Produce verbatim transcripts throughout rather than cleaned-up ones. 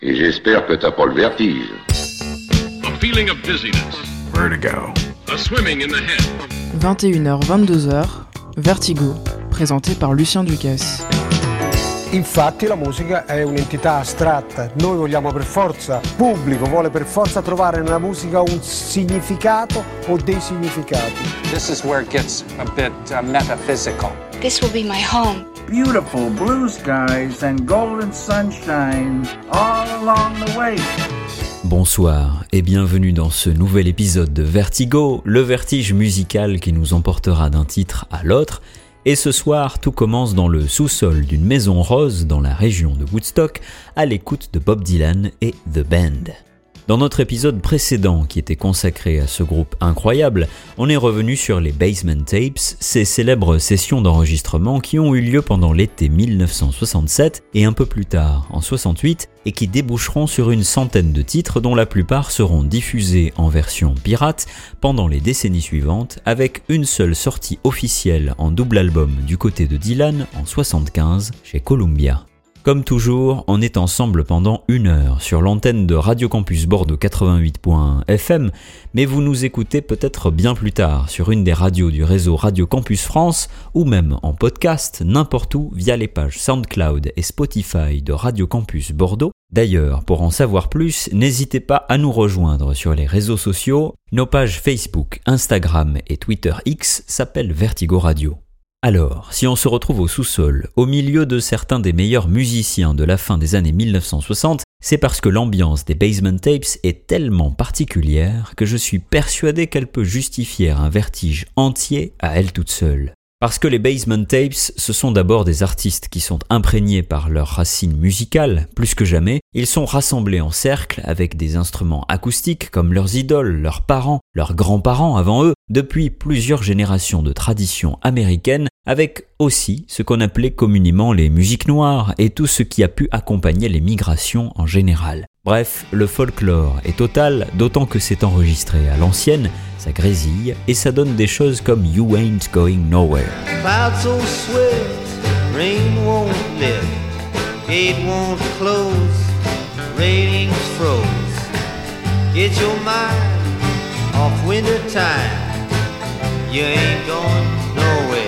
Et j'espère que t'as pas le vertige. A feeling of dizziness. Vertigo. A swimming in the head. vingt et une heures vingt-deux heures, Vertigo, présenté par Lucien Ducasse. Infatti la musica è un'entità astratta, noi vogliamo per forza, il pubblico vuole per forza trovare nella musica un significato o dei significati. This is where it gets a bit uh, metaphysical. This will be my home. Beautiful blue skies and golden sunshine all along the way. Bonsoir et bienvenue dans ce nouvel épisode de Vertigo, le vertige musical qui nous emportera d'un titre à l'autre. Et ce soir, tout commence dans le sous-sol d'une maison rose dans la région de Woodstock, à l'écoute de Bob Dylan et The Band. Dans notre épisode précédent, qui était consacré à ce groupe incroyable, on est revenu sur les Basement Tapes, ces célèbres sessions d'enregistrement qui ont eu lieu pendant l'été mille neuf cent soixante-sept et un peu plus tard, en soixante-huit, et qui déboucheront sur une centaine de titres dont la plupart seront diffusés en version pirate pendant les décennies suivantes, avec une seule sortie officielle en double album du côté de Dylan en soixante-quinze chez Columbia. Comme toujours, on est ensemble pendant une heure sur l'antenne de Radio Campus Bordeaux quatre-vingt-huit point un F M, mais vous nous écoutez peut-être bien plus tard sur une des radios du réseau Radio Campus France ou même en podcast n'importe où via les pages SoundCloud et Spotify de Radio Campus Bordeaux. D'ailleurs, pour en savoir plus, n'hésitez pas à nous rejoindre sur les réseaux sociaux. Nos pages Facebook, Instagram et Twitter X s'appellent Vertigo Radio. Alors, si on se retrouve au sous-sol, au milieu de certains des meilleurs musiciens de la fin des années mille neuf cent soixante, c'est parce que l'ambiance des Basement Tapes est tellement particulière que je suis persuadé qu'elle peut justifier un vertige entier à elle toute seule. Parce que les Basement Tapes, ce sont d'abord des artistes qui sont imprégnés par leurs racines musicales, plus que jamais. Ils sont rassemblés en cercle avec des instruments acoustiques comme leurs idoles, leurs parents, leurs grands-parents avant eux, depuis plusieurs générations de traditions américaines, avec aussi ce qu'on appelait communément les musiques noires et tout ce qui a pu accompagner les migrations en général. Bref, le folklore est total, d'autant que c'est enregistré à l'ancienne, ça grésille, et ça donne des choses comme You Ain't Going Nowhere. Clouds so swift, rain won't lift, gate won't close, ratings froze. Get your mind off winter time, you ain't going nowhere.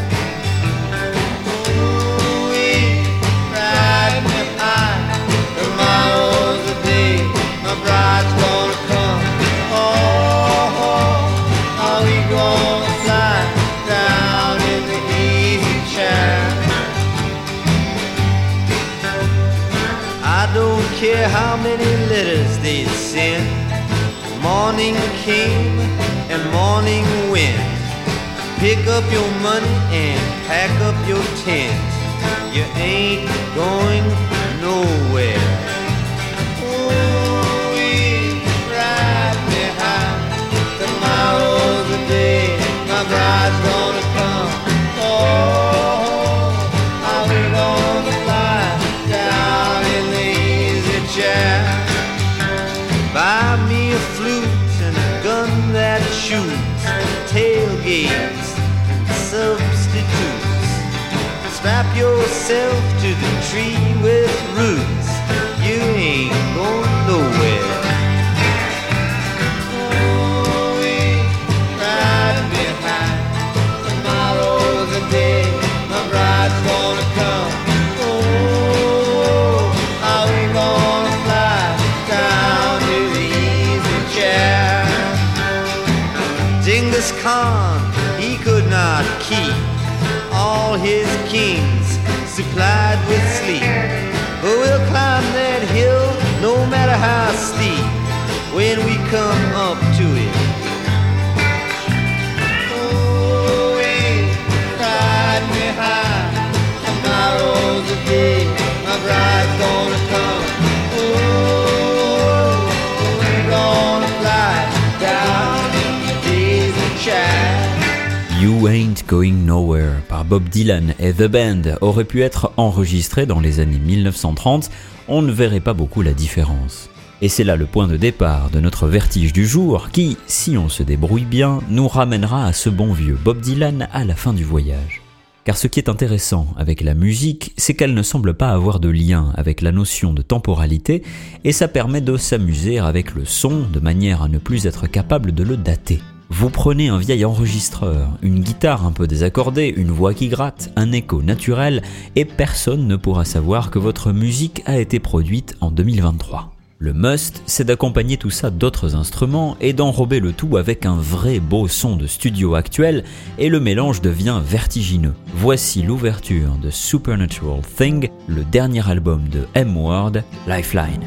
Ooh-wee, ride me high, tomorrow's the day, my bride's gonna come. Oh, oh, are we gonna fly down in the easy chair? I don't care how many letters they send. Morning came and morning went. Pick up your money and pack up your tent. You ain't going nowhere. Ooh-wee, ride me high. Tomorrow's the day my bride's gonna come. Oh, are we gonna fly down in the easy chair? Buy me a flute and a gun that shoots, tailgates and substitutes. Strap yourself to the tree with roots. You ain't going nowhere. Ooh-wee, ride me high. Tomorrow's the day my bride's gonna come. Oh, are we gonna fly down to the easy chair? Genghis Khan, he could not keep all his kings supplied with sleep. But we'll climb that hill no matter how steep when we come up to it. Oh, we ride me high. Tomorrow's the day my bride's gonna come. Oh, we're gonna fly down in the daisy chair. You Ain't Going Nowhere par Bob Dylan et The Band aurait pu être enregistré dans les années mille neuf cent trente, on ne verrait pas beaucoup la différence. Et c'est là le point de départ de notre vertige du jour qui, si on se débrouille bien, nous ramènera à ce bon vieux Bob Dylan à la fin du voyage. Car ce qui est intéressant avec la musique, c'est qu'elle ne semble pas avoir de lien avec la notion de temporalité, et ça permet de s'amuser avec le son de manière à ne plus être capable de le dater. Vous prenez un vieil enregistreur, une guitare un peu désaccordée, une voix qui gratte, un écho naturel, et personne ne pourra savoir que votre musique a été produite en deux mille vingt-trois. Le must, c'est d'accompagner tout ça d'autres instruments et d'enrober le tout avec un vrai beau son de studio actuel, et le mélange devient vertigineux. Voici l'ouverture de Supernatural Thing, le dernier album de M-Word, Lifeline.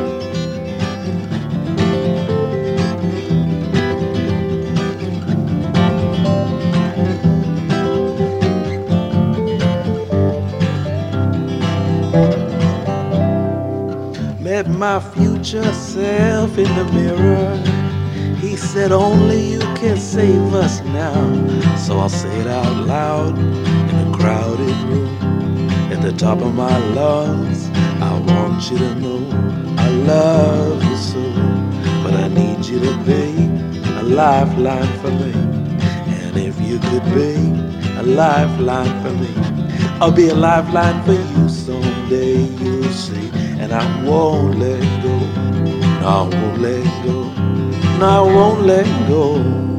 Met my future self in the mirror. He said only you can save us now. So I'll say it out loud in a crowded room. At the top of my lungs, I want you to know I love you so. But I need you to be a lifeline for me. And if you could be a lifeline for me, I'll be a lifeline for you someday, you'll see. And I won't let go, no, I won't let go, no, I won't let go.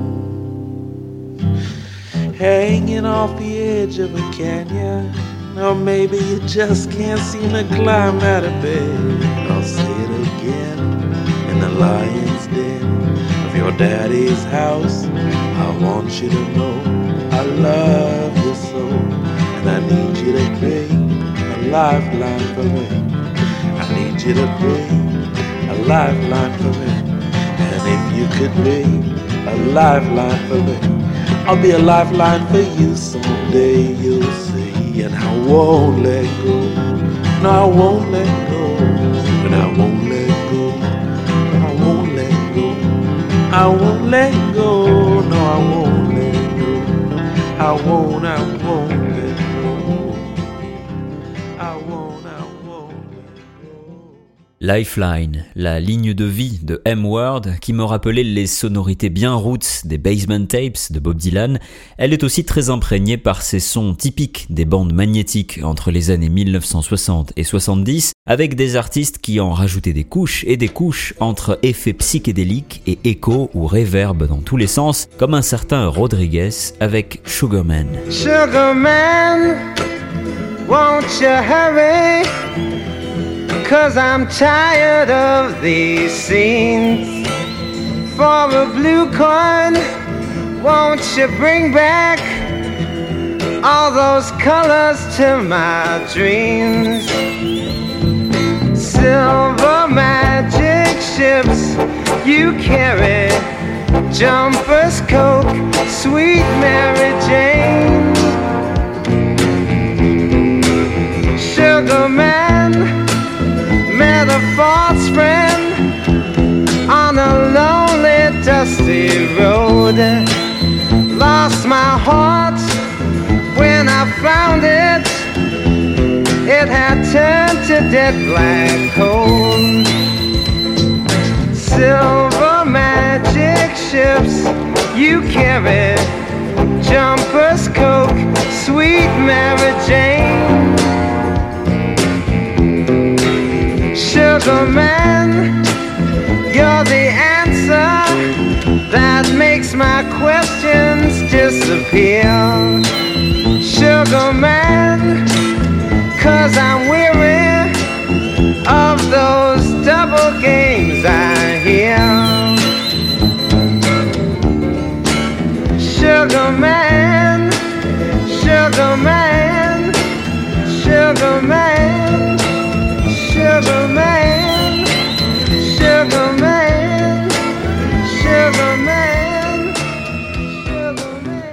Hanging off the edge of a canyon, or maybe you just can't seem to climb out of bed. I'll say it again, in the lion's den of your daddy's house. I want you to know I love you so, and I need you to be a lifeline for me. I need you to be a lifeline for me. And if you could be a lifeline for me, I'll be a lifeline for you someday, you'll see. And I won't let go, no, I won't let go. And I won't let go, no, I won't let go. I won't let go, no, I won't let go. I won't, I won't let go. I won't, I won't. Lifeline, la ligne de vie de M-Word, qui me rappelait les sonorités bien roots des Basement Tapes de Bob Dylan. Elle est aussi très imprégnée par ces sons typiques des bandes magnétiques entre les années mille neuf cent soixante et soixante-dix, avec des artistes qui en rajoutaient des couches et des couches entre effets psychédéliques et échos ou reverb dans tous les sens, comme un certain Rodriguez avec Sugarman. Sugarman, won't you hurry? 'Cause I'm tired of these scenes. For a blue coin, won't you bring back all those colors to my dreams? Silver magic ships you carry, jumpers, Coke, sweet Mary Jane. Sugarman, met a false friend on a lonely, dusty road. Lost my heart when I found it. It had turned to dead black coal. Silver magic ships you carry, jumpers, Coke, sweet Mary Jane. Sugarman, you're the answer that makes my questions disappear. Sugarman, 'cause I'm weary of those double games I hear. Sugarman, Sugarman, Sugarman, Sugarman, Sugarman, Sugarman, Sugarman.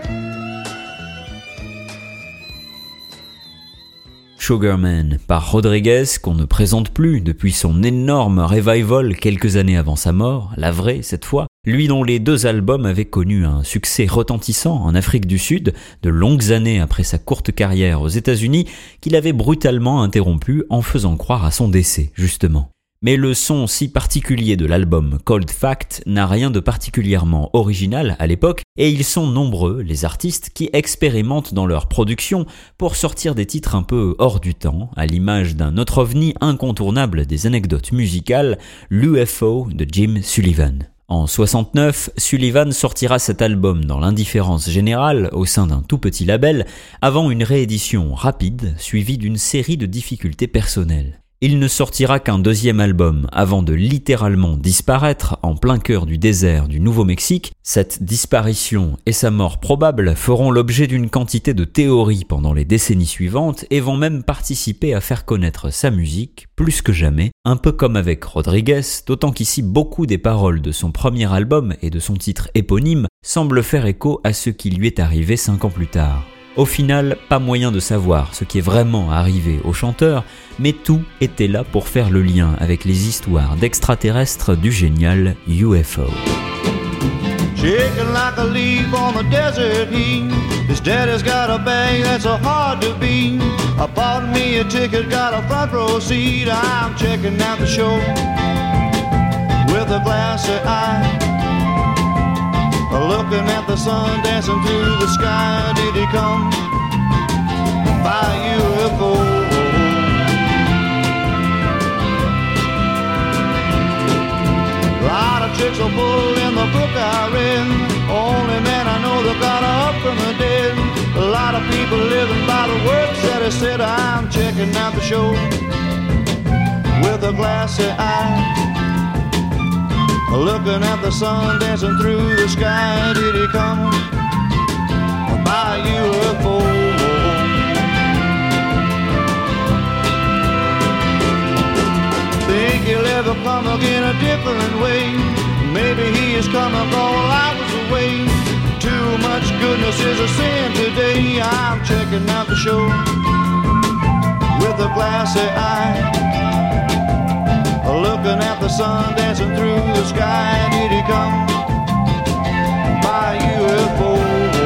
Sugarman par Rodriguez, qu'on ne présente plus depuis son énorme revival quelques années avant sa mort, la vraie cette fois, lui dont les deux albums avaient connu un succès retentissant en Afrique du Sud, de longues années après sa courte carrière aux États-Unis, qu'il avait brutalement interrompu en faisant croire à son décès, justement. Mais le son si particulier de l'album Cold Fact n'a rien de particulièrement original à l'époque, et ils sont nombreux, les artistes, qui expérimentent dans leur production pour sortir des titres un peu hors du temps, à l'image d'un autre ovni incontournable des anecdotes musicales, l'U F O de Jim Sullivan. En soixante-neuf, Sullivan sortira cet album dans l'indifférence générale au sein d'un tout petit label, avant une réédition rapide suivie d'une série de difficultés personnelles. Il ne sortira qu'un deuxième album avant de littéralement disparaître en plein cœur du désert du Nouveau-Mexique. Cette disparition et sa mort probable feront l'objet d'une quantité de théories pendant les décennies suivantes et vont même participer à faire connaître sa musique plus que jamais, un peu comme avec Rodriguez, d'autant qu'ici beaucoup des paroles de son premier album et de son titre éponyme semblent faire écho à ce qui lui est arrivé cinq ans plus tard. Au final, pas moyen de savoir ce qui est vraiment arrivé au chanteur, mais tout était là pour faire le lien avec les histoires d'extraterrestres du génial U F O. Shaking like a leaf on the desert heat. His daddy's got a bag that's so hard to beat. I bought me a ticket, got a front row seat. I'm checking out the show with a glassy eye. Looking at the sun dancing through the sky. Did he come by U F O? A lot of tricks are pulled in the book I read. Only man I know that got up from the dead. A lot of people living by the words that he said. I'm checking out the show with a glassy eye. Looking at the sun dancing through the sky. Did he come by U F O? Think he'll ever come again a different way? Maybe he is coming all hours away. Too much goodness is a sin today. I'm checking out the show with a glassy eye. Looking at the sun dancing through the sky. Did he come by U F O?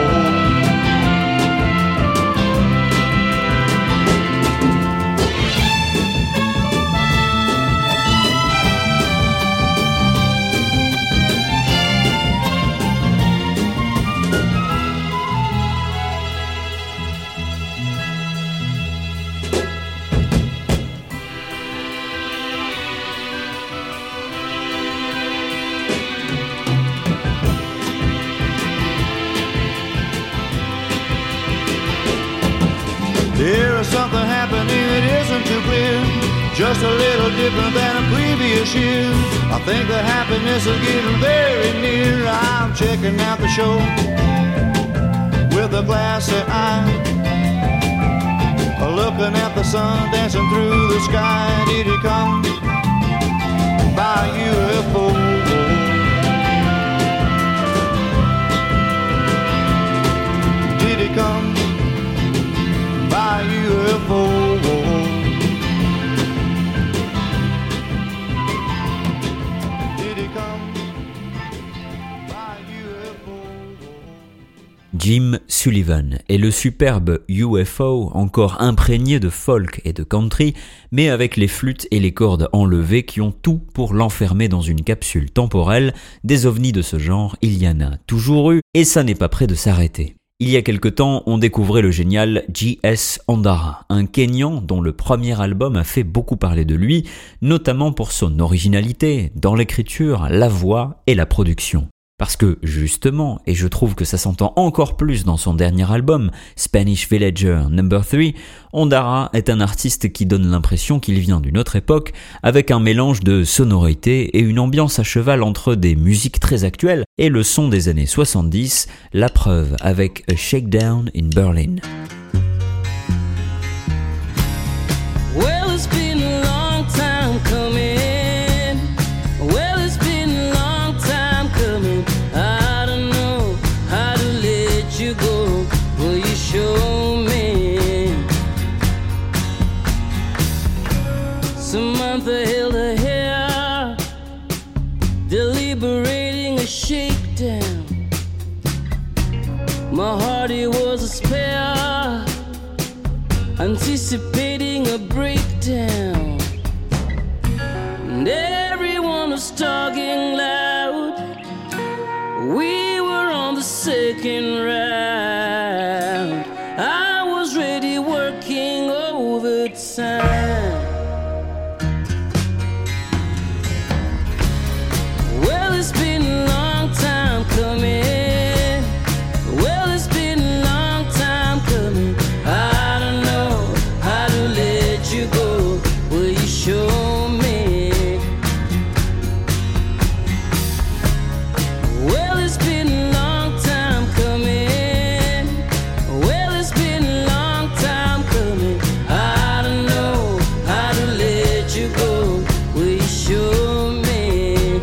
There is something happening that isn't too clear, just a little different than a previous year. I think the happiness is getting very near. I'm checking out the show with a glassy eye. Looking at the sun dancing through the sky. Did he come by U F O? Did he come by U F O? Did he come by U F O? Jim Sullivan est le superbe U F O, encore imprégné de folk et de country, mais avec les flûtes et les cordes enlevées qui ont tout pour l'enfermer dans une capsule temporelle. Des ovnis de ce genre, il y en a toujours eu, et ça n'est pas près de s'arrêter. Il y a quelque temps, on découvrait le génial J S Ondara, un Kenyan dont le premier album a fait beaucoup parler de lui, notamment pour son originalité dans l'écriture, la voix et la production. Parce que, justement, et je trouve que ça s'entend encore plus dans son dernier album, Spanish Villager number three, Ondara est un artiste qui donne l'impression qu'il vient d'une autre époque, avec un mélange de sonorité et une ambiance à cheval entre des musiques très actuelles et le son des années soixante-dix, la preuve avec A Shakedown in Berlin. Well, it's been a long time coming. Show me. Samantha held her hair, deliberating a shakedown. My heart, it was a spare, anticipating a breakdown. And was talking loud. We were on the second round. I was ready working overtime. Well, it's been a long time coming. Well, it's been a long time coming. I don't know how to let you go. Will you show me? Well, it's been a long time coming. Well, it's been a long time coming. I don't know how to let you go. Will you show me?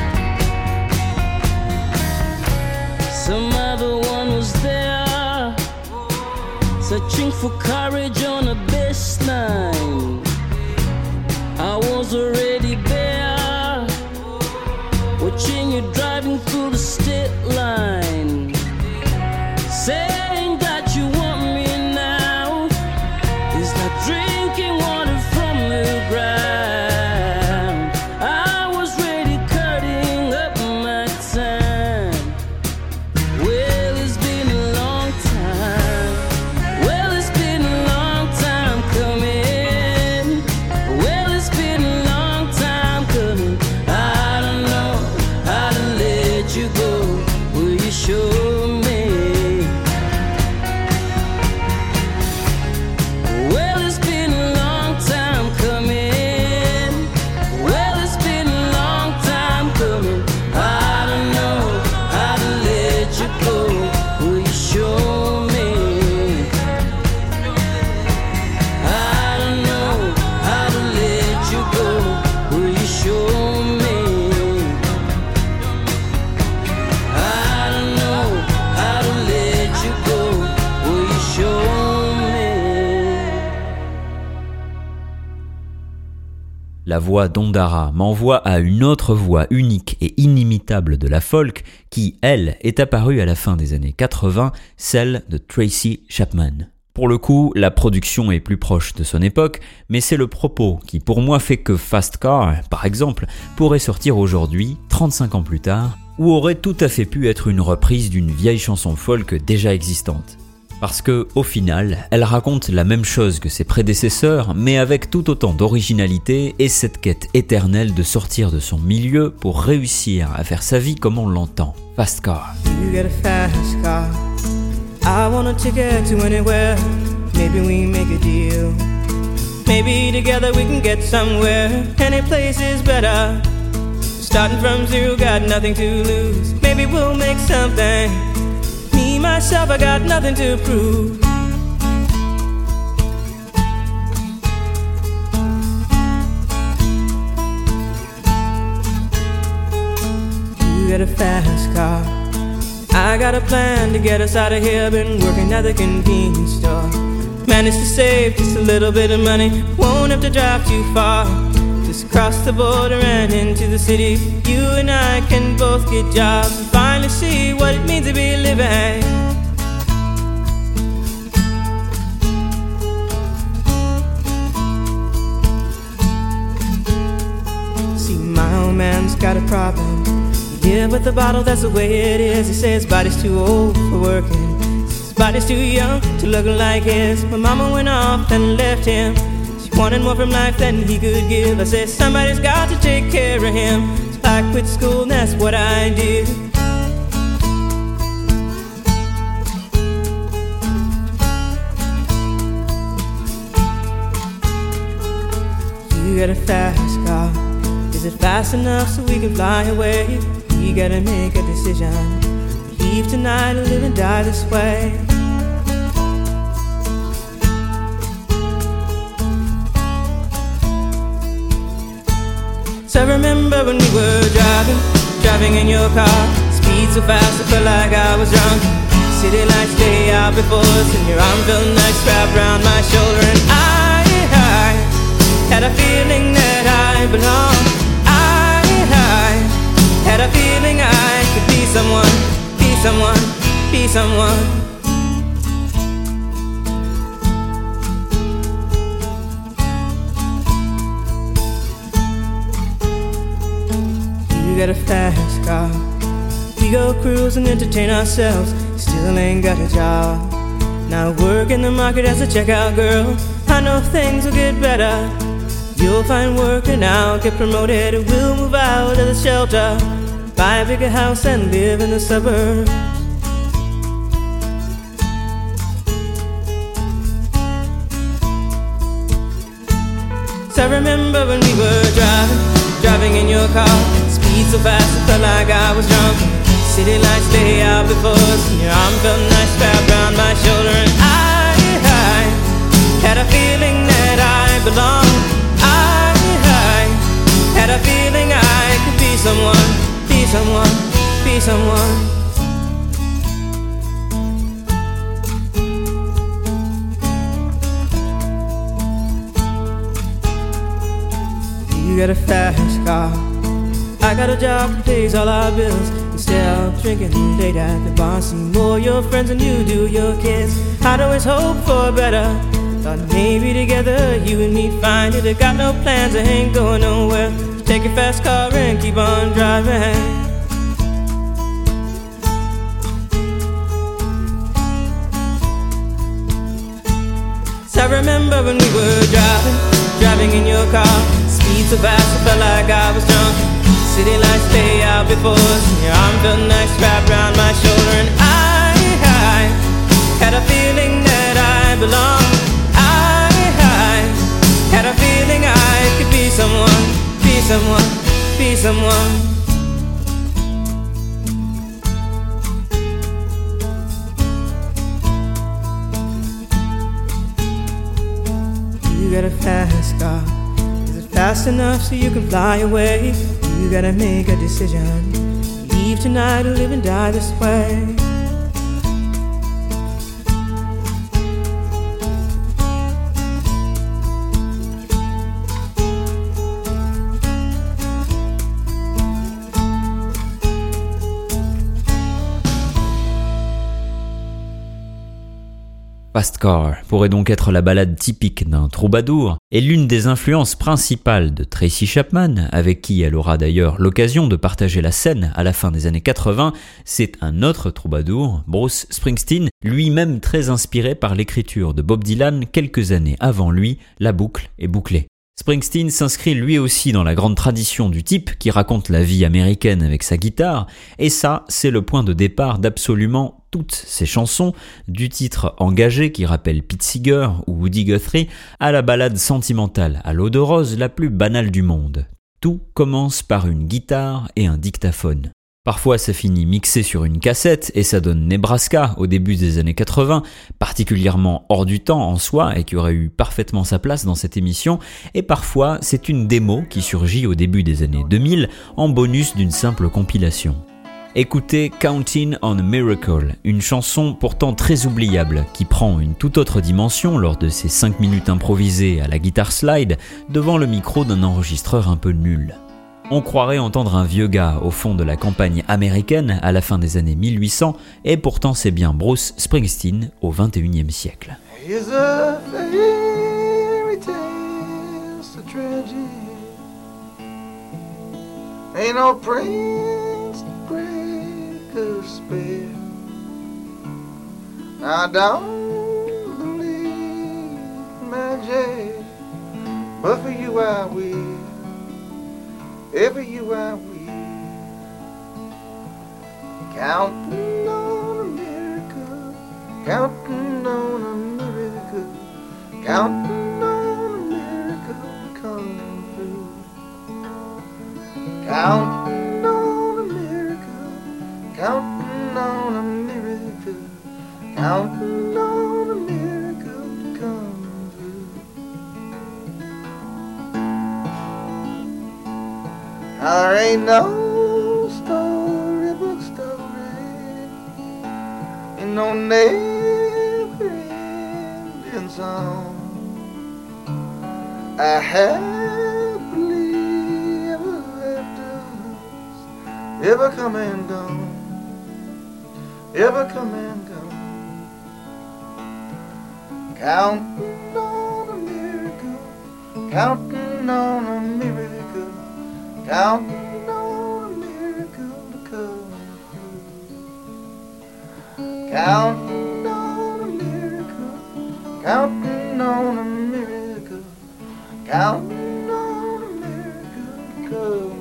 Some other one was there, searching for courage on a baseline. I was already there, watching you driving through the state line, saying that you want me now. It's like drinking water from the ground. I was ready, cutting up my time. Well, it's been a long time. Well, it's been a long time coming. Well, it's been a long time coming. I don't know how to let you go. Will you show me? Well, it's been a long time coming. Well, it's been a long time coming. I don't know how to let you go. Will you show me? I don't know how to let you go. Will you show me? I don't know how to let you go. Will you show me? La voix d'Ondara m'envoie à une autre voix unique et inimitable de la folk qui, elle, est apparue à la fin des années quatre-vingts, celle de Tracy Chapman. Pour le coup, la production est plus proche de son époque, mais c'est le propos qui pour moi fait que Fast Car, par exemple, pourrait sortir aujourd'hui, trente-cinq ans plus tard, ou aurait tout à fait pu être une reprise d'une vieille chanson folk déjà existante. Parce que, au final, elle raconte la même chose que ses prédécesseurs, mais avec tout autant d'originalité et cette quête éternelle de sortir de son milieu pour réussir à faire sa vie comme on l'entend. Fast Car. You get a fast car. I want a ticket to anywhere. Maybe we make a deal. Maybe together we can get somewhere. Any place is better. Starting from zero, got nothing to lose. Maybe we'll make something. Me, myself, I got nothing to prove. You got a fast car. I got a plan to get us out of here. Been working at the convenience store. Managed to save just a little bit of money. Won't have to drive too far. Just cross the border and into the city. You and I can both get jobs and finally see what it means to be living. See, my old man's got a problem. He live with a bottle, that's the way it is. He says his body's too old for working. His body's too young to look like his. My mama went off and left him. Wanted more from life than he could give. I said somebody's got to take care of him. So I quit school and that's what I did. You got a fast car. Is it fast enough so we can fly away? We gotta make a decision. Leave tonight or live and die this way. So I remember when we were driving, driving in your car. Speed so fast I felt like I was drunk. City lights day out before us, and your arm felt nice wrapped around my shoulder. And I, I had a feeling that I belonged. I, I had a feeling I could be someone, be someone, be someone. You got a fast car. We go cruise and entertain ourselves. Still ain't got a job. Now work in the market as a checkout girl. I know things will get better. You'll find work and I'll get promoted. We'll move out of the shelter, buy a bigger house and live in the suburbs. So I remember when we were driving, driving in your car. Speed so fast it felt like I was drunk. City lights lay out before us, and your arm felt nice wrapped around my shoulder. And I, I had a feeling that I belonged. I, I had a feeling I could be someone, be someone, be someone. You got a fast car. I got a job that pays all our bills. Instead of drinking late at the bar, see more your friends than you do your kids. I'd always hope for better. Thought maybe together you and me find it. I got no plans, I ain't going nowhere. So take your fast car and keep on driving. So I remember when we were driving, driving in your car. Speed so fast I felt like I was drunk. City lights lay out before us, and your arm felt nice wrapped around my shoulder. And I, I had a feeling that I belonged. I, I had a feeling I could be someone, be someone, be someone. You got a fast car. Fast enough so you can fly away. You gotta make a decision. Leave tonight or live and die this way. Fast Car pourrait donc être la ballade typique d'un troubadour et l'une des influences principales de Tracy Chapman, avec qui elle aura d'ailleurs l'occasion de partager la scène à la fin des années quatre-vingts. C'est un autre troubadour, Bruce Springsteen, lui-même très inspiré par l'écriture de Bob Dylan quelques années avant lui. La boucle est bouclée. Springsteen s'inscrit lui aussi dans la grande tradition du type qui raconte la vie américaine avec sa guitare, et ça, c'est le point de départ d'absolument toutes ses chansons, du titre engagé qui rappelle Pete Seeger ou Woody Guthrie, à la ballade sentimentale à l'eau de rose la plus banale du monde. Tout commence par une guitare et un dictaphone. Parfois ça finit mixé sur une cassette et ça donne Nebraska au début des années quatre-vingts, particulièrement hors du temps en soi et qui aurait eu parfaitement sa place dans cette émission, et parfois c'est une démo qui surgit au début des années deux mille en bonus d'une simple compilation. Écoutez Counting on a Miracle, une chanson pourtant très oubliable qui prend une toute autre dimension lors de ses cinq minutes improvisées à la guitare slide devant le micro d'un enregistreur un peu nul. On croirait entendre un vieux gars au fond de la campagne américaine à la fin des années mille huit cents, et pourtant c'est bien Bruce Springsteen au vingt et unième siècle. Here's a fairy tale, it's a tragedy. Ain't no prince to break a spell. I don't believe in magic, but for you I will. Ever you I will. Counting on a miracle, counting on a miracle, counting on a miracle to come through. Counting on a miracle, counting on a miracle, counting on a miracle to come through. There ain't no storybook story, ain't no never-ending song. I happily ever afters, ever come and gone, ever come and gone. Counting on a miracle, counting on a miracle, counting on a miracle. counting on a miracle, counting on a miracle, counting on a miracle to come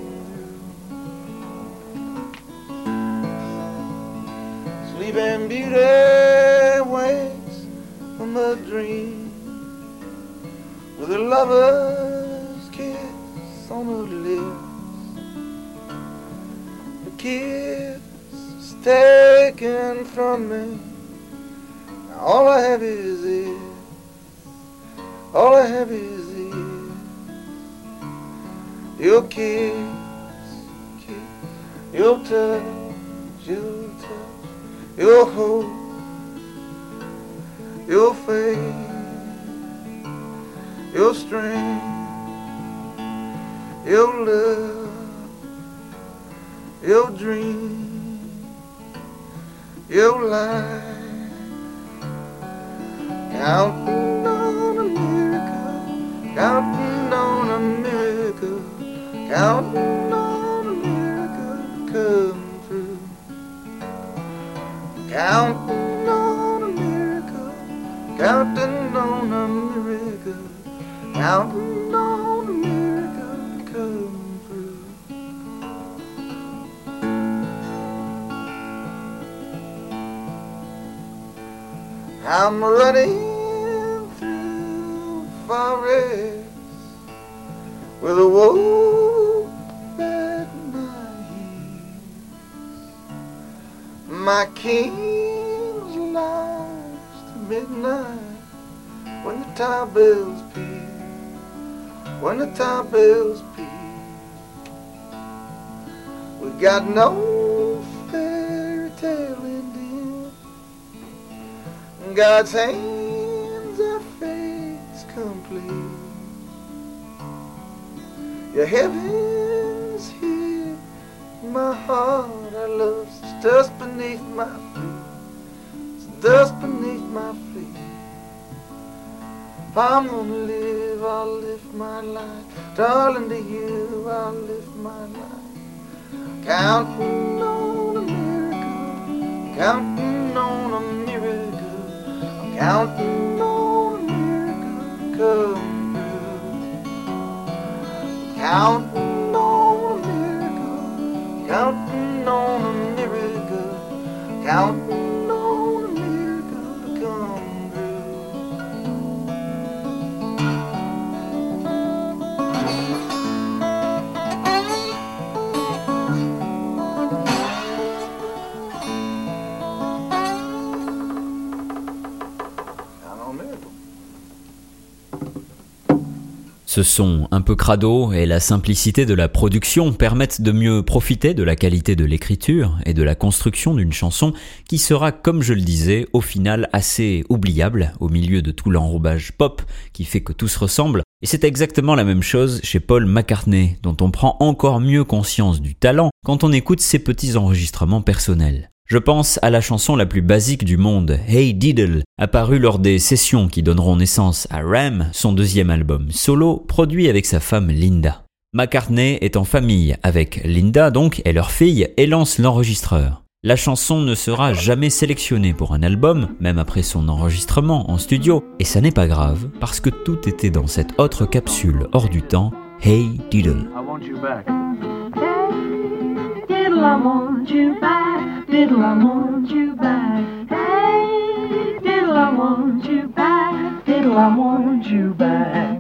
through. Sleeping Beauty wakes from a dream with a lover's kiss on her lips. The kiss is taken from me. Now all I have is it. All I have is it. Your kiss, kiss, your touch, your touch, your hope, your faith, your strength, your love, your dream, your life. Counting on a miracle, counting on a miracle, counting on a miracle to come through. Counting on a miracle, counting on a miracle, counting on a miracle to come through. I'm running through forest with a wolf at my heels. My king's lost at midnight when the tower bells peal, when the tower bells peal. We got no fairy tale ending. God's hands are fate's complete. Your heaven's here, my heart I love. It's dust beneath my feet, it's dust beneath my feet. If I'm gonna live, I'll live my life, darling, to you I'll live my life. Counting on a miracle, counting on a miracle, counting on a miracle to come through. Counting on a miracle, counting on a miracle, counting on a miracle to come Ce son un peu crado et la simplicité de la production permettent de mieux profiter de la qualité de l'écriture et de la construction d'une chanson qui sera, comme je le disais, au final assez oubliable au milieu de tout l'enrobage pop qui fait que tout se ressemble. Et c'est exactement la même chose chez Paul McCartney, dont on prend encore mieux conscience du talent quand on écoute ses petits enregistrements personnels. Je pense à la chanson la plus basique du monde, Hey Diddle, apparue lors des sessions qui donneront naissance à Ram, son deuxième album solo, produit avec sa femme Linda. McCartney est en famille avec Linda donc et leur fille et lance l'enregistreur. La chanson ne sera jamais sélectionnée pour un album, même après son enregistrement en studio, et ça n'est pas grave, parce que tout était dans cette autre capsule hors du temps, Hey Diddle. I want you back. Hey, diddle, I want you back. Diddle, I want you back. Hey, diddle, I want you back. Diddle, I want you back.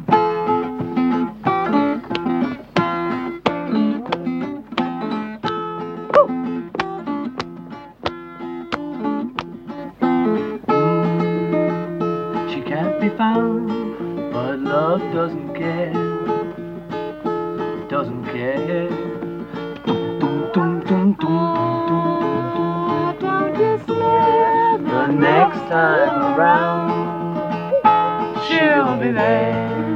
She can't be found, but love doesn't care. Doesn't care. The next time around, she'll be there.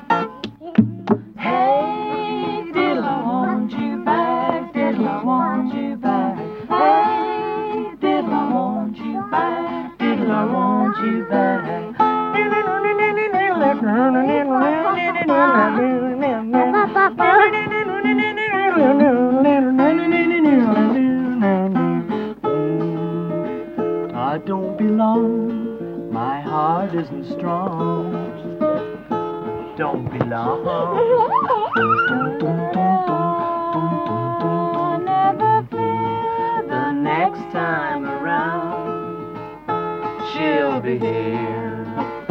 Hey, diddle, I want you back. Diddle, I want you back. Hey, diddle, I want you back. Diddle, I want you back. I don't belong. My heart isn't strong. Don't belong. Never fear the next time around she'll be here.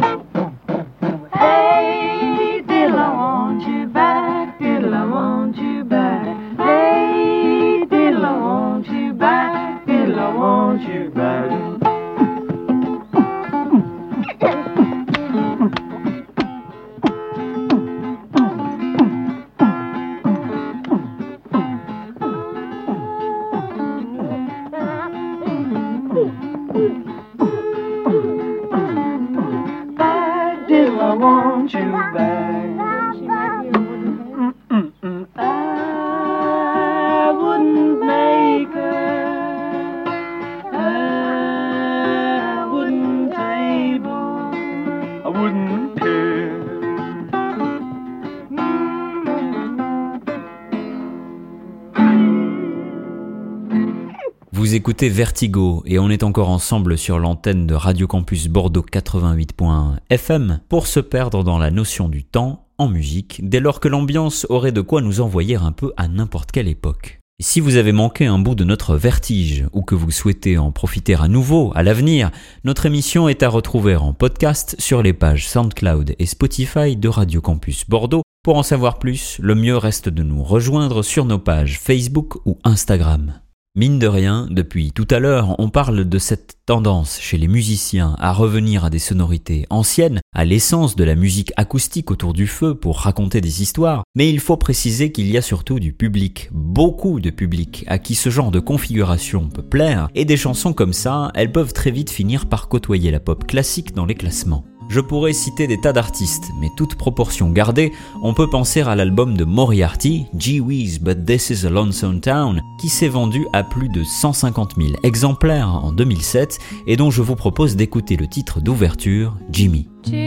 Hey, diddle, I want you back. Diddle, I want you back. Hey, diddle, I want you back. Diddle, I want you back. Vous écoutez Vertigo et on est encore ensemble sur l'antenne de Radio Campus Bordeaux quatre-vingt-huit point un F M pour se perdre dans la notion du temps en musique dès lors que l'ambiance aurait de quoi nous envoyer un peu à n'importe quelle époque. Et si vous avez manqué un bout de notre vertige ou que vous souhaitez en profiter à nouveau à l'avenir, notre émission est à retrouver en podcast sur les pages SoundCloud et Spotify de Radio Campus Bordeaux. Pour en savoir plus, le mieux reste de nous rejoindre sur nos pages Facebook ou Instagram. Mine de rien, depuis tout à l'heure, on parle de cette tendance chez les musiciens à revenir à des sonorités anciennes, à l'essence de la musique acoustique autour du feu pour raconter des histoires, mais il faut préciser qu'il y a surtout du public, beaucoup de public, à qui ce genre de configuration peut plaire, et des chansons comme ça, elles peuvent très vite finir par côtoyer la pop classique dans les classements. Je pourrais citer des tas d'artistes, mais toute proportion gardée, on peut penser à l'album de Moriarty, Gee Whiz But This Is a Lonesome Town, qui s'est vendu à plus de cent cinquante mille exemplaires en deux mille sept et dont je vous propose d'écouter le titre d'ouverture, Jimmy.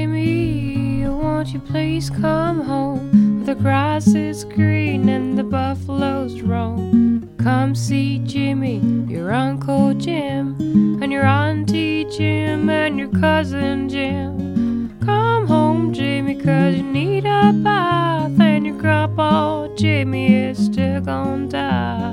Jimmy, won't you please come home? The grass is green and the buffaloes roam. Come see Jimmy, your Uncle Jim, and your Auntie Jim, and your cousin Jim. Come home, Jimmy, cause you need a bath, and your grandpa Jimmy is still gonna die.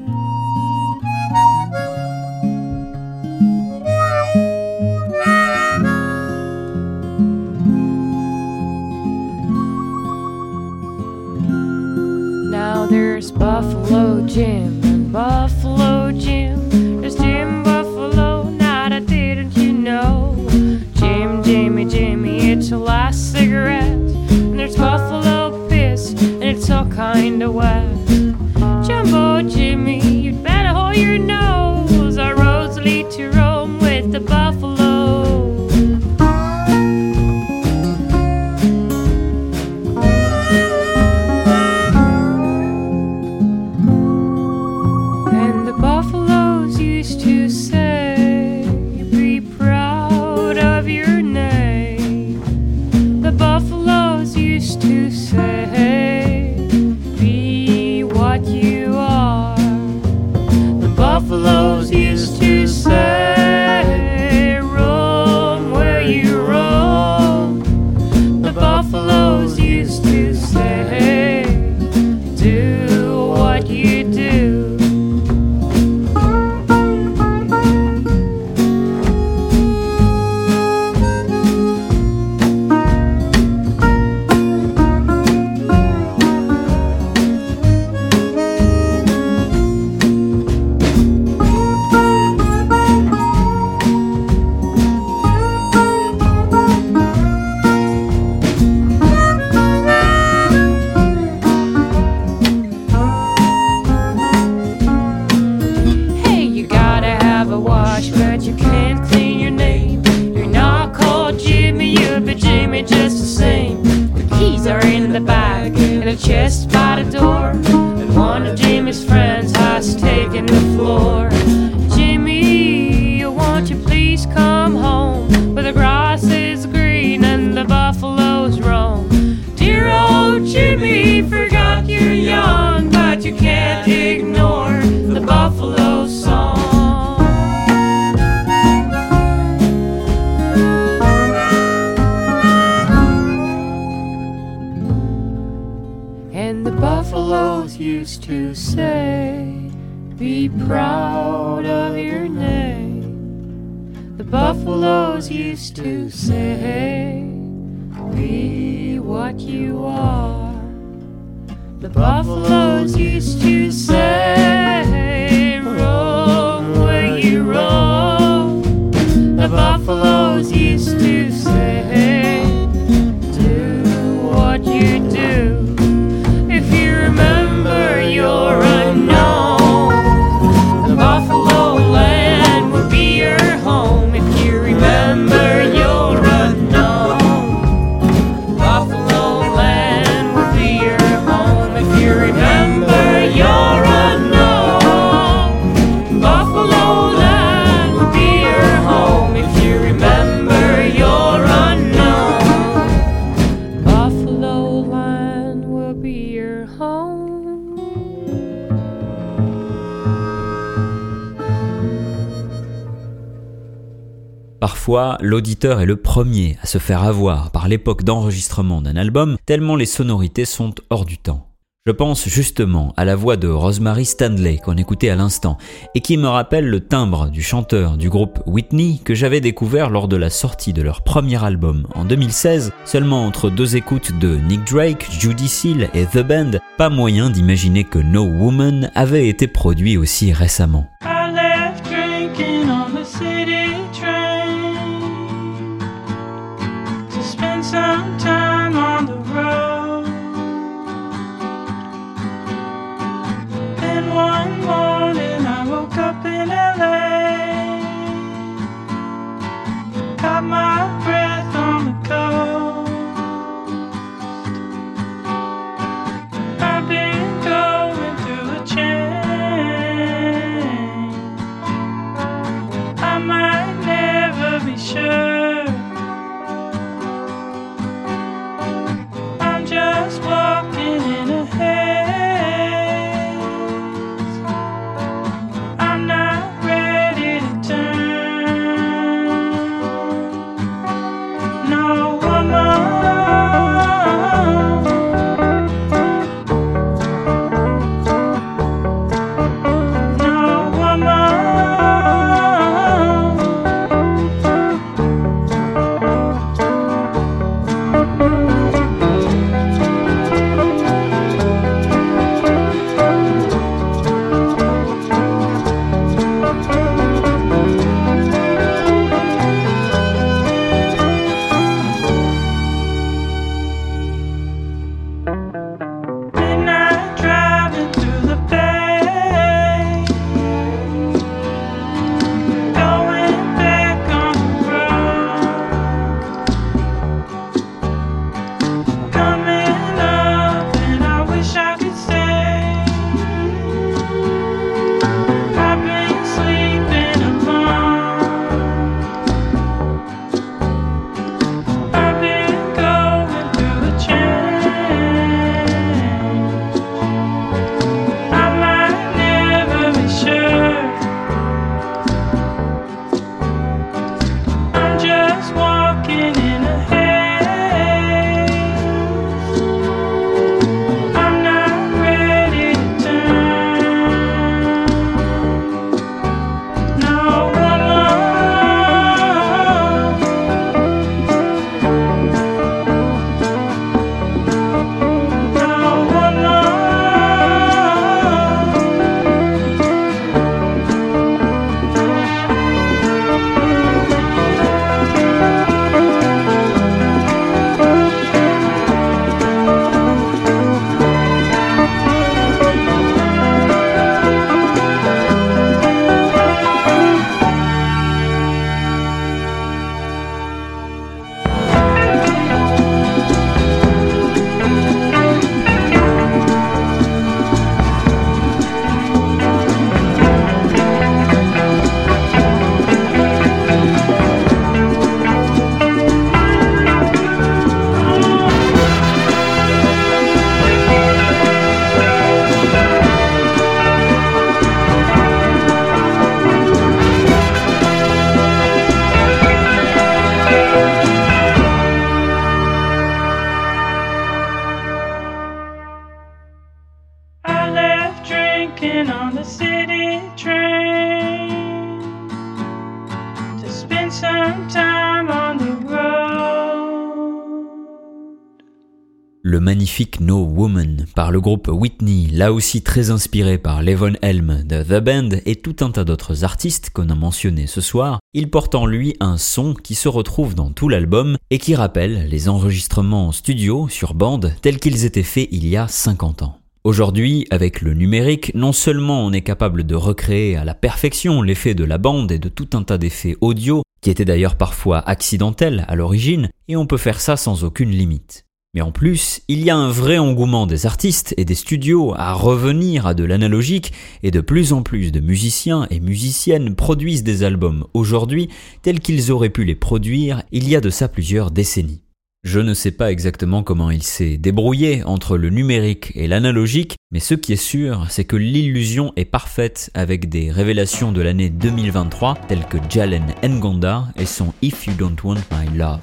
Now there's Buffalo Jim and Buffalo Jim. There's Jim Buffalo, now that didn't you know? Jim, Jimmy, Jimmy, it's your last cigarette. And there's Buffalo Piss, and it's all kinda wet. Jumbo Jimmy, you'd better hold your nose. Our roads lead to Rome with the buffalo. Buffaloes used to say, roam where you roam. The buffaloes used to say, do what you do. Chest by the door, and one of Jimmy's friends has taken the floor. Jimmy, won't you please come home, where the grass is green and the buffaloes roam. Dear old Jimmy, forgot you're young, but you can't ignore the buffalo song. be proud of your name. The buffaloes used to say, be what you are. The buffaloes used to say, roam where you roam. The buffaloes used to say, do what you do. If you remember your unknown, the buffalo land will be your home. If you remember your unknown, buffalo land will be your home. If you remember your unknown, buffalo land will be your home. If you remember your unknown, buffalo land will be your home. Parfois, l'auditeur est le premier à se faire avoir par l'époque d'enregistrement d'un album, tellement les sonorités sont hors du temps. Je pense justement à la voix de Rosemary Stanley qu'on écoutait à l'instant et qui me rappelle le timbre du chanteur du groupe Whitney que j'avais découvert lors de la sortie de leur premier album en deux mille seize, seulement entre deux écoutes de Nick Drake, Judy Seal et The Band, pas moyen d'imaginer que No Woman avait été produit aussi récemment. I left drinking on the city train to spend some time on the road. Then one morning I woke up in L A, caught my breath on the coast. I've been going through a change. on the city train to spend some time on the road. Le magnifique No Woman par le groupe Whitney, là aussi très inspiré par Levon Helm de The Band et tout un tas d'autres artistes qu'on a mentionnés ce soir, il porte en lui un son qui se retrouve dans tout l'album et qui rappelle les enregistrements en studio sur bande tels qu'ils étaient faits il y a cinquante ans. Aujourd'hui, avec le numérique, non seulement on est capable de recréer à la perfection l'effet de la bande et de tout un tas d'effets audio, qui étaient d'ailleurs parfois accidentels à l'origine, et on peut faire ça sans aucune limite. Mais en plus, il y a un vrai engouement des artistes et des studios à revenir à de l'analogique, et de plus en plus de musiciens et musiciennes produisent des albums aujourd'hui tels qu'ils auraient pu les produire il y a de ça plusieurs décennies. Je ne sais pas exactement comment il s'est débrouillé entre le numérique et l'analogique, mais ce qui est sûr, c'est que l'illusion est parfaite avec des révélations de l'année deux mille vingt-trois telles que Jalen Ngonda et son If You Don't Want My Love.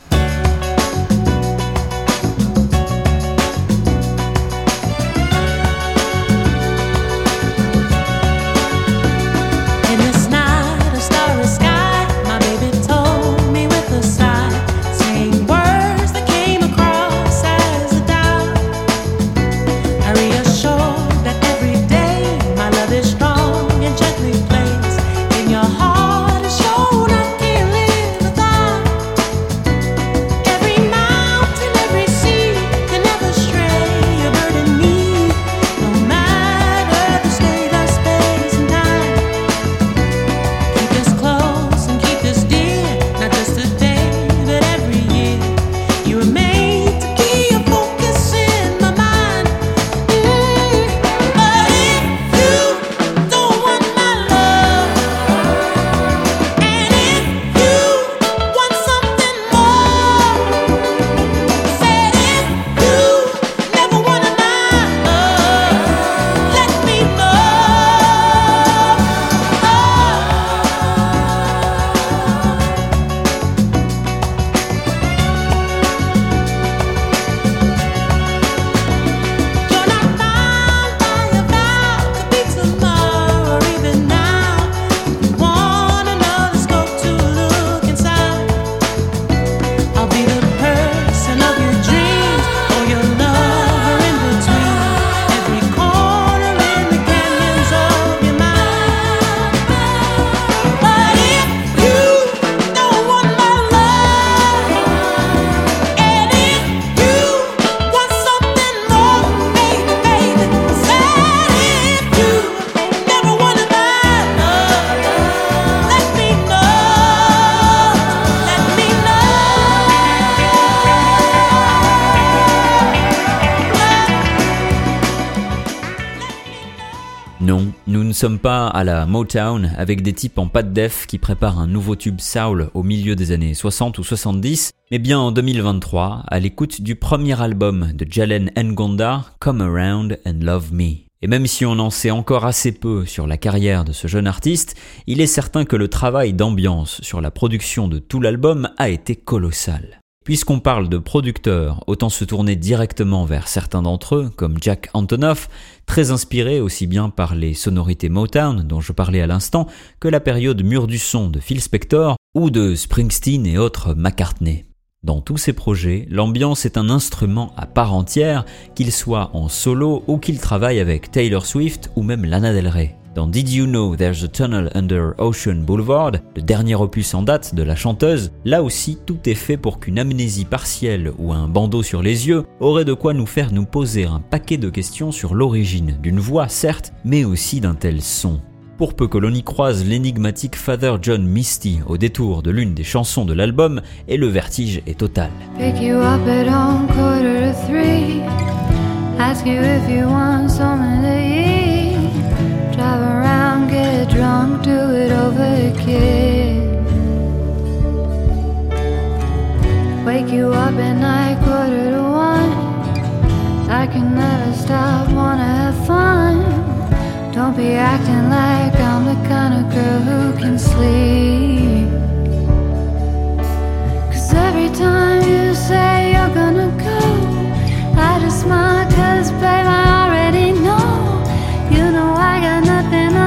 Non, nous ne sommes pas à la Motown avec des types en pâte def qui préparent un nouveau tube soul au milieu des années soixante ou soixante-dix, mais bien en deux mille vingt-trois, à l'écoute du premier album de Jalen Ngonda, Come Around and Love Me. Et même si on en sait encore assez peu sur la carrière de ce jeune artiste, il est certain que le travail d'ambiance sur la production de tout l'album a été colossal. Puisqu'on parle de producteurs, autant se tourner directement vers certains d'entre eux, comme Jack Antonoff, très inspiré aussi bien par les sonorités Motown dont je parlais à l'instant, que la période mûre du son de Phil Spector ou de Springsteen et autres McCartney. Dans tous ces projets, l'ambiance est un instrument à part entière, qu'il soit en solo ou qu'il travaille avec Taylor Swift ou même Lana Del Rey. Dans Did You Know There's a Tunnel Under Ocean Boulevard, le dernier opus en date de la chanteuse, là aussi tout est fait pour qu'une amnésie partielle ou un bandeau sur les yeux aurait de quoi nous faire nous poser un paquet de questions sur l'origine d'une voix certes, mais aussi d'un tel son. Pour peu que l'on y croise l'énigmatique Father John Misty au détour de l'une des chansons de l'album, et le vertige est total. Pick you up at home, quarter to three. Ask you if you want something to eat. Drive around, get drunk, do it over again. Wake you up at night, quarter to one. I can never stop, wanna have fun. Don't be acting like I'm the kind of girl who can sleep. 'Cause every time you say you're gonna go, I just smile 'cause babe I already know. You know I got nothing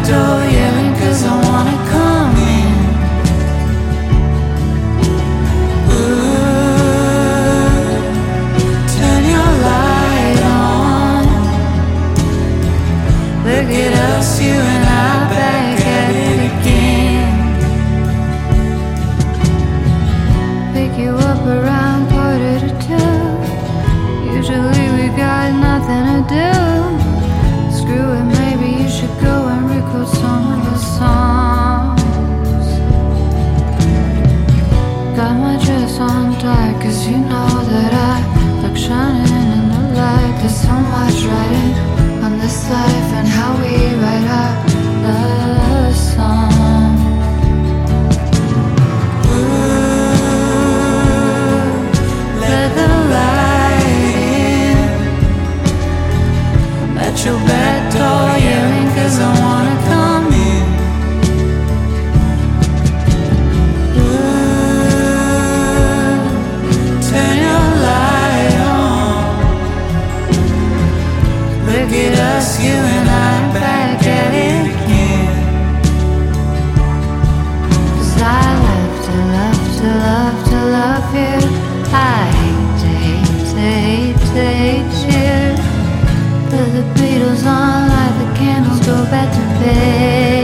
door, yelling cause I wanna come in. Ooh, turn your light on. Look at us, you and I, back at it again. Pick you up around quarter to two. Usually we got nothing to do. Screw it, maybe you should go and record some of the songs. Got my dress on tight, cause you know that I like shining in the light. There's so much writing on this life and how we write our love song. Ooh, let the light in. Let your back door yelling cause I wanna come in. Ooh, turn your light on. Look at us, you and I, back at it again. Cause I love to love to love to love you. I hate to hate to hate to hate you. Put the Beatles on, light the candles, go back to bed.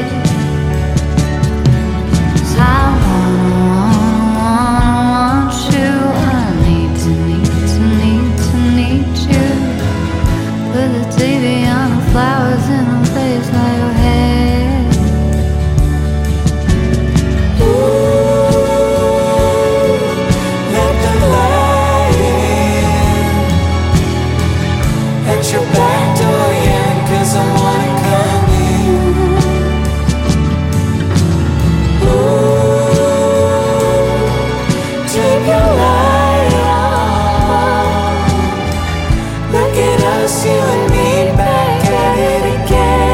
Cause I wanna, wanna, wanna want you. I need to, need to, need to, need you. Put the T V on, the flowers in the place like your head. Ooh, let the light in. At your back door, yeah, cause I wanna come in. Ooh, take your light on. Look at us, you and me, back at it again.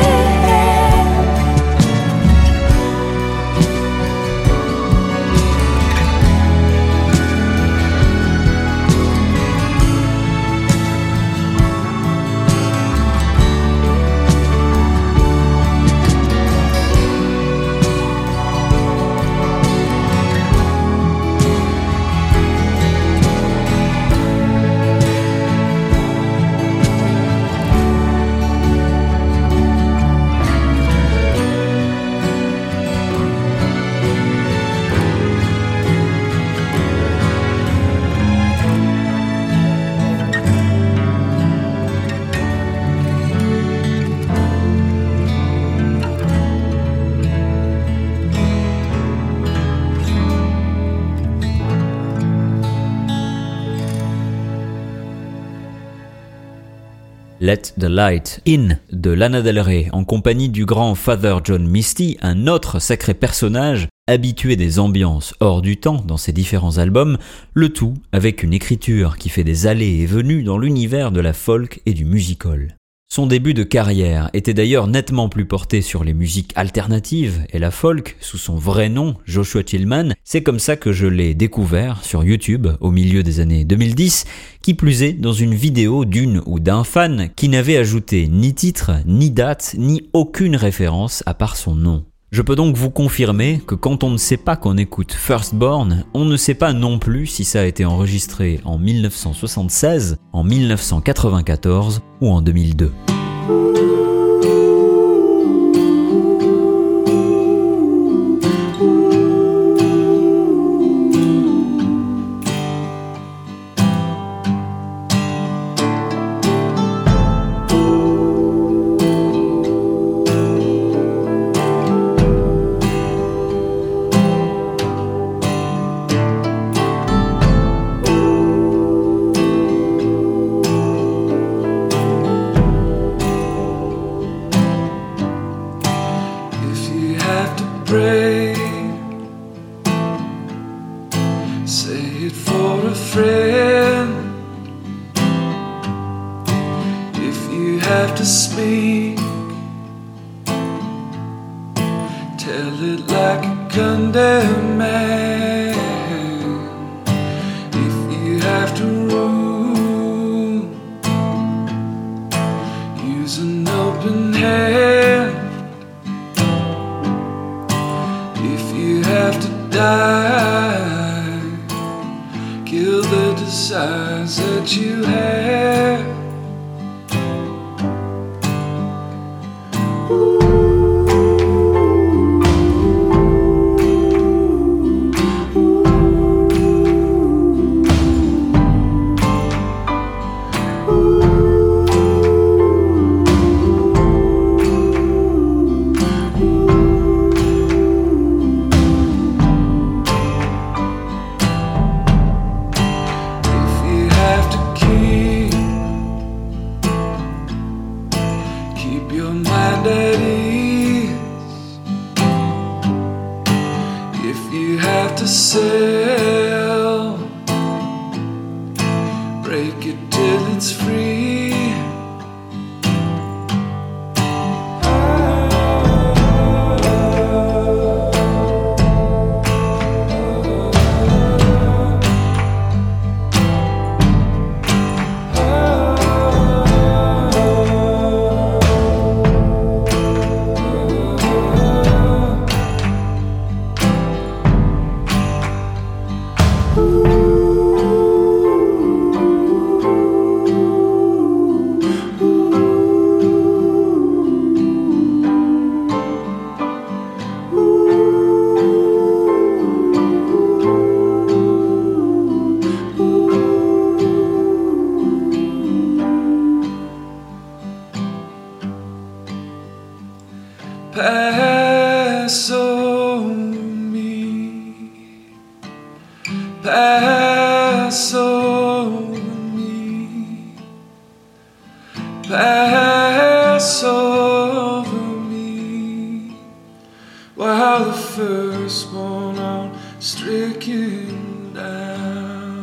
Let the Light In de Lana Del Rey en compagnie du grand Father John Misty, un autre sacré personnage habitué des ambiances hors du temps dans ses différents albums, le tout avec une écriture qui fait des allées et venues dans l'univers de la folk et du music-hall. Son début de carrière était d'ailleurs nettement plus porté sur les musiques alternatives et la folk sous son vrai nom, Joshua Tillman. C'est comme ça que je l'ai découvert sur YouTube au milieu des années deux mille dix, qui plus est dans une vidéo d'une ou d'un fan qui n'avait ajouté ni titre, ni date, ni aucune référence à part son nom. Je peux donc vous confirmer que quand on ne sait pas qu'on écoute Firstborn, on ne sait pas non plus si ça a été enregistré en dix-neuf cent soixante-seize, en dix-neuf cent quatre-vingt-quatorze ou en deux mille deux. die. Kill the desires that you have. Pass over me, pass over me, pass over me, while the firstborn are stricken down.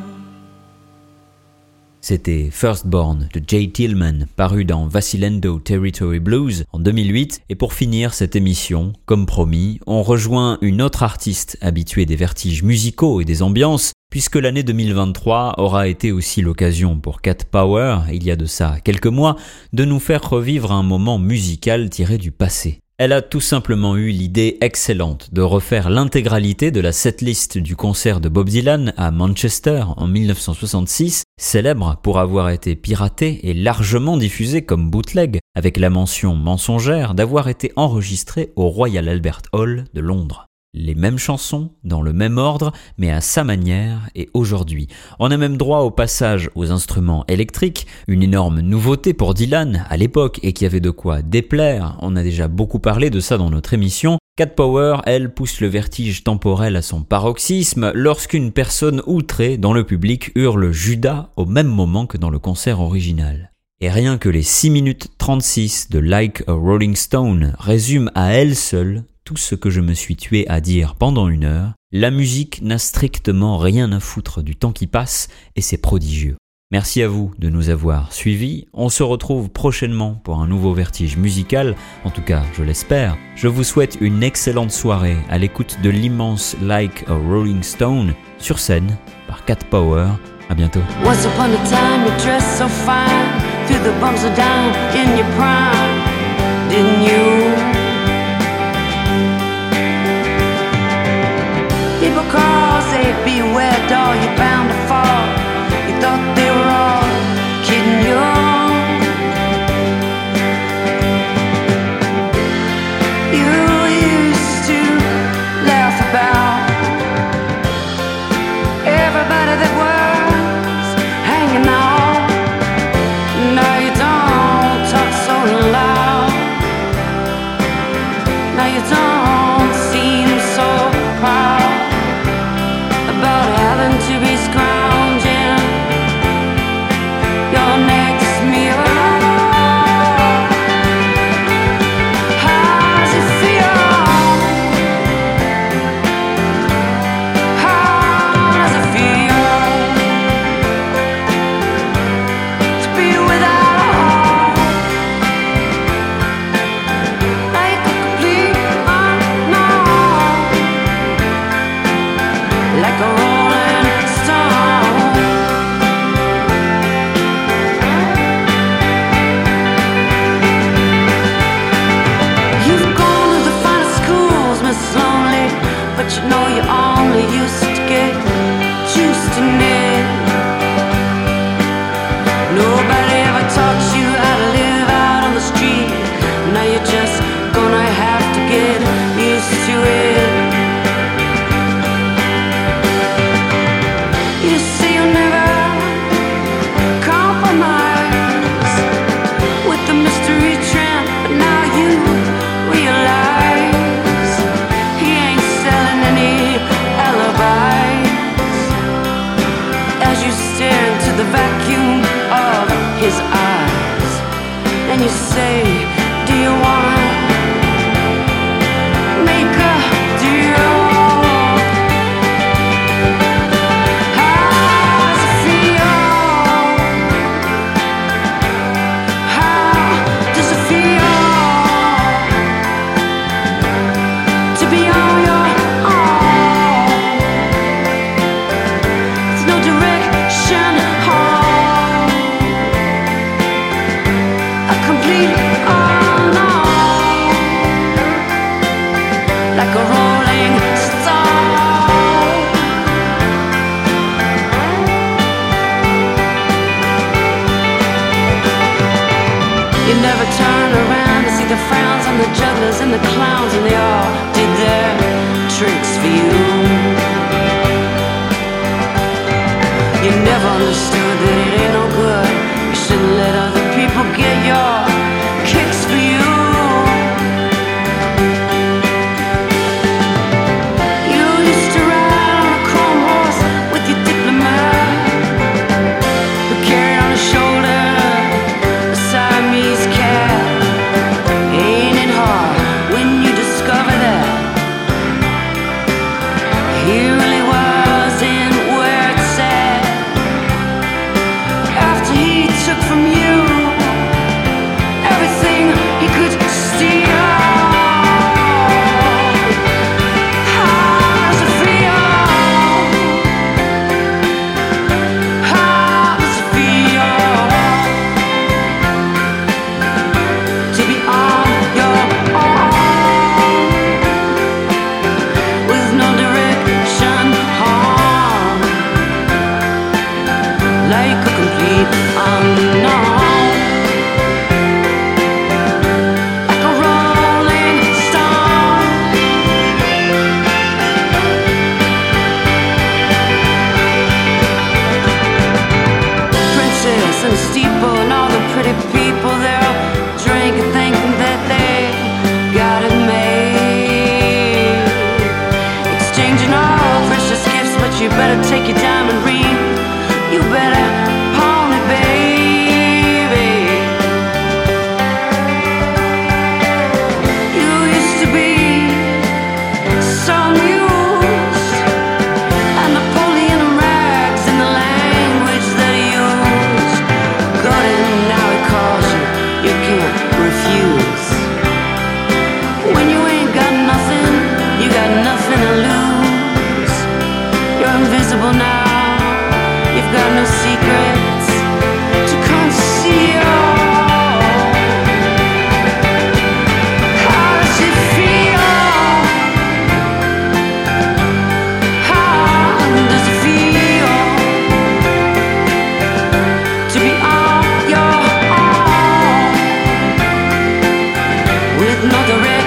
C'était Firstborn de Jay Tillman, paru dans Vacillando Territory Blues en deux mille huit. Et pour finir cette émission, comme promis, on rejoint une autre artiste habituée des vertiges musicaux et des ambiances, puisque l'année deux mille vingt-trois aura été aussi l'occasion pour Cat Power, il y a de ça quelques mois, de nous faire revivre un moment musical tiré du passé. Elle a tout simplement eu l'idée excellente de refaire l'intégralité de la setlist du concert de Bob Dylan à Manchester en dix-neuf cent soixante-six, célèbre pour avoir été piraté et largement diffusé comme bootleg, avec la mention mensongère d'avoir été enregistré au Royal Albert Hall de Londres. Les mêmes chansons, dans le même ordre, mais à sa manière et aujourd'hui. On a même droit au passage aux instruments électriques, une énorme nouveauté pour Dylan à l'époque et qui avait de quoi déplaire. On a déjà beaucoup parlé de ça dans notre émission. Cat Power, elle, pousse le vertige temporel à son paroxysme lorsqu'une personne outrée dans le public hurle Judas au même moment que dans le concert original. Et rien que les six minutes trente-six de Like a Rolling Stone résument à elles seules tout ce que je me suis tué à dire pendant une heure. La musique n'a strictement rien à foutre du temps qui passe et c'est prodigieux. Merci à vous de nous avoir suivis. On se retrouve prochainement pour un nouveau vertige musical, en tout cas je l'espère. Je vous souhaite une excellente soirée à l'écoute de l'immense Like a Rolling Stone sur scène par Cat Power. À bientôt. Once upon a time you dressed so fine, through the bumps of down in your prime, didn't you? People call, say beware doll, you're bound to fall. You thought they were all kidding you. You used to laugh about everybody that was hanging out. Now you don't talk so loud. Now you don't seem so proud about having to be scrounging your next meal. How's it feel? How does it feel to be without a home, like a complete unknown, like a rolling stone? You've gone to the finest schools, Miss Lonely, but you know you're on like a rolling stone. You never turn around to see the frowns on the jugglers and the clowns, and they all did their tricks for you. You never understood that it ain't no good. You shouldn't let other people get your kicks for you. You used to ride on a chrome horse with your diplomat, who carried on his shoulder a Siamese cat. Ain't it hard when you discover that he really wasn't where it's at? After he took from you everything he could steal. How does it feel? How does it feel to be on your own with no direction home, like a complete unknown, like a rolling stone? Princess and steeple and all the pretty people, they're all drinking, thinking that they got it made, exchanging all precious gifts. But you better take your diamond ring, you better pawn it, baby. You used to be so amused at Napoleon and rags and the language that he used. Got it, now he calls you, you can't refuse. When you ain't got nothing, you got nothing to lose. You're invisible now, you've got no secrets to conceal. How does it feel? How does it feel to be on your own with no direction?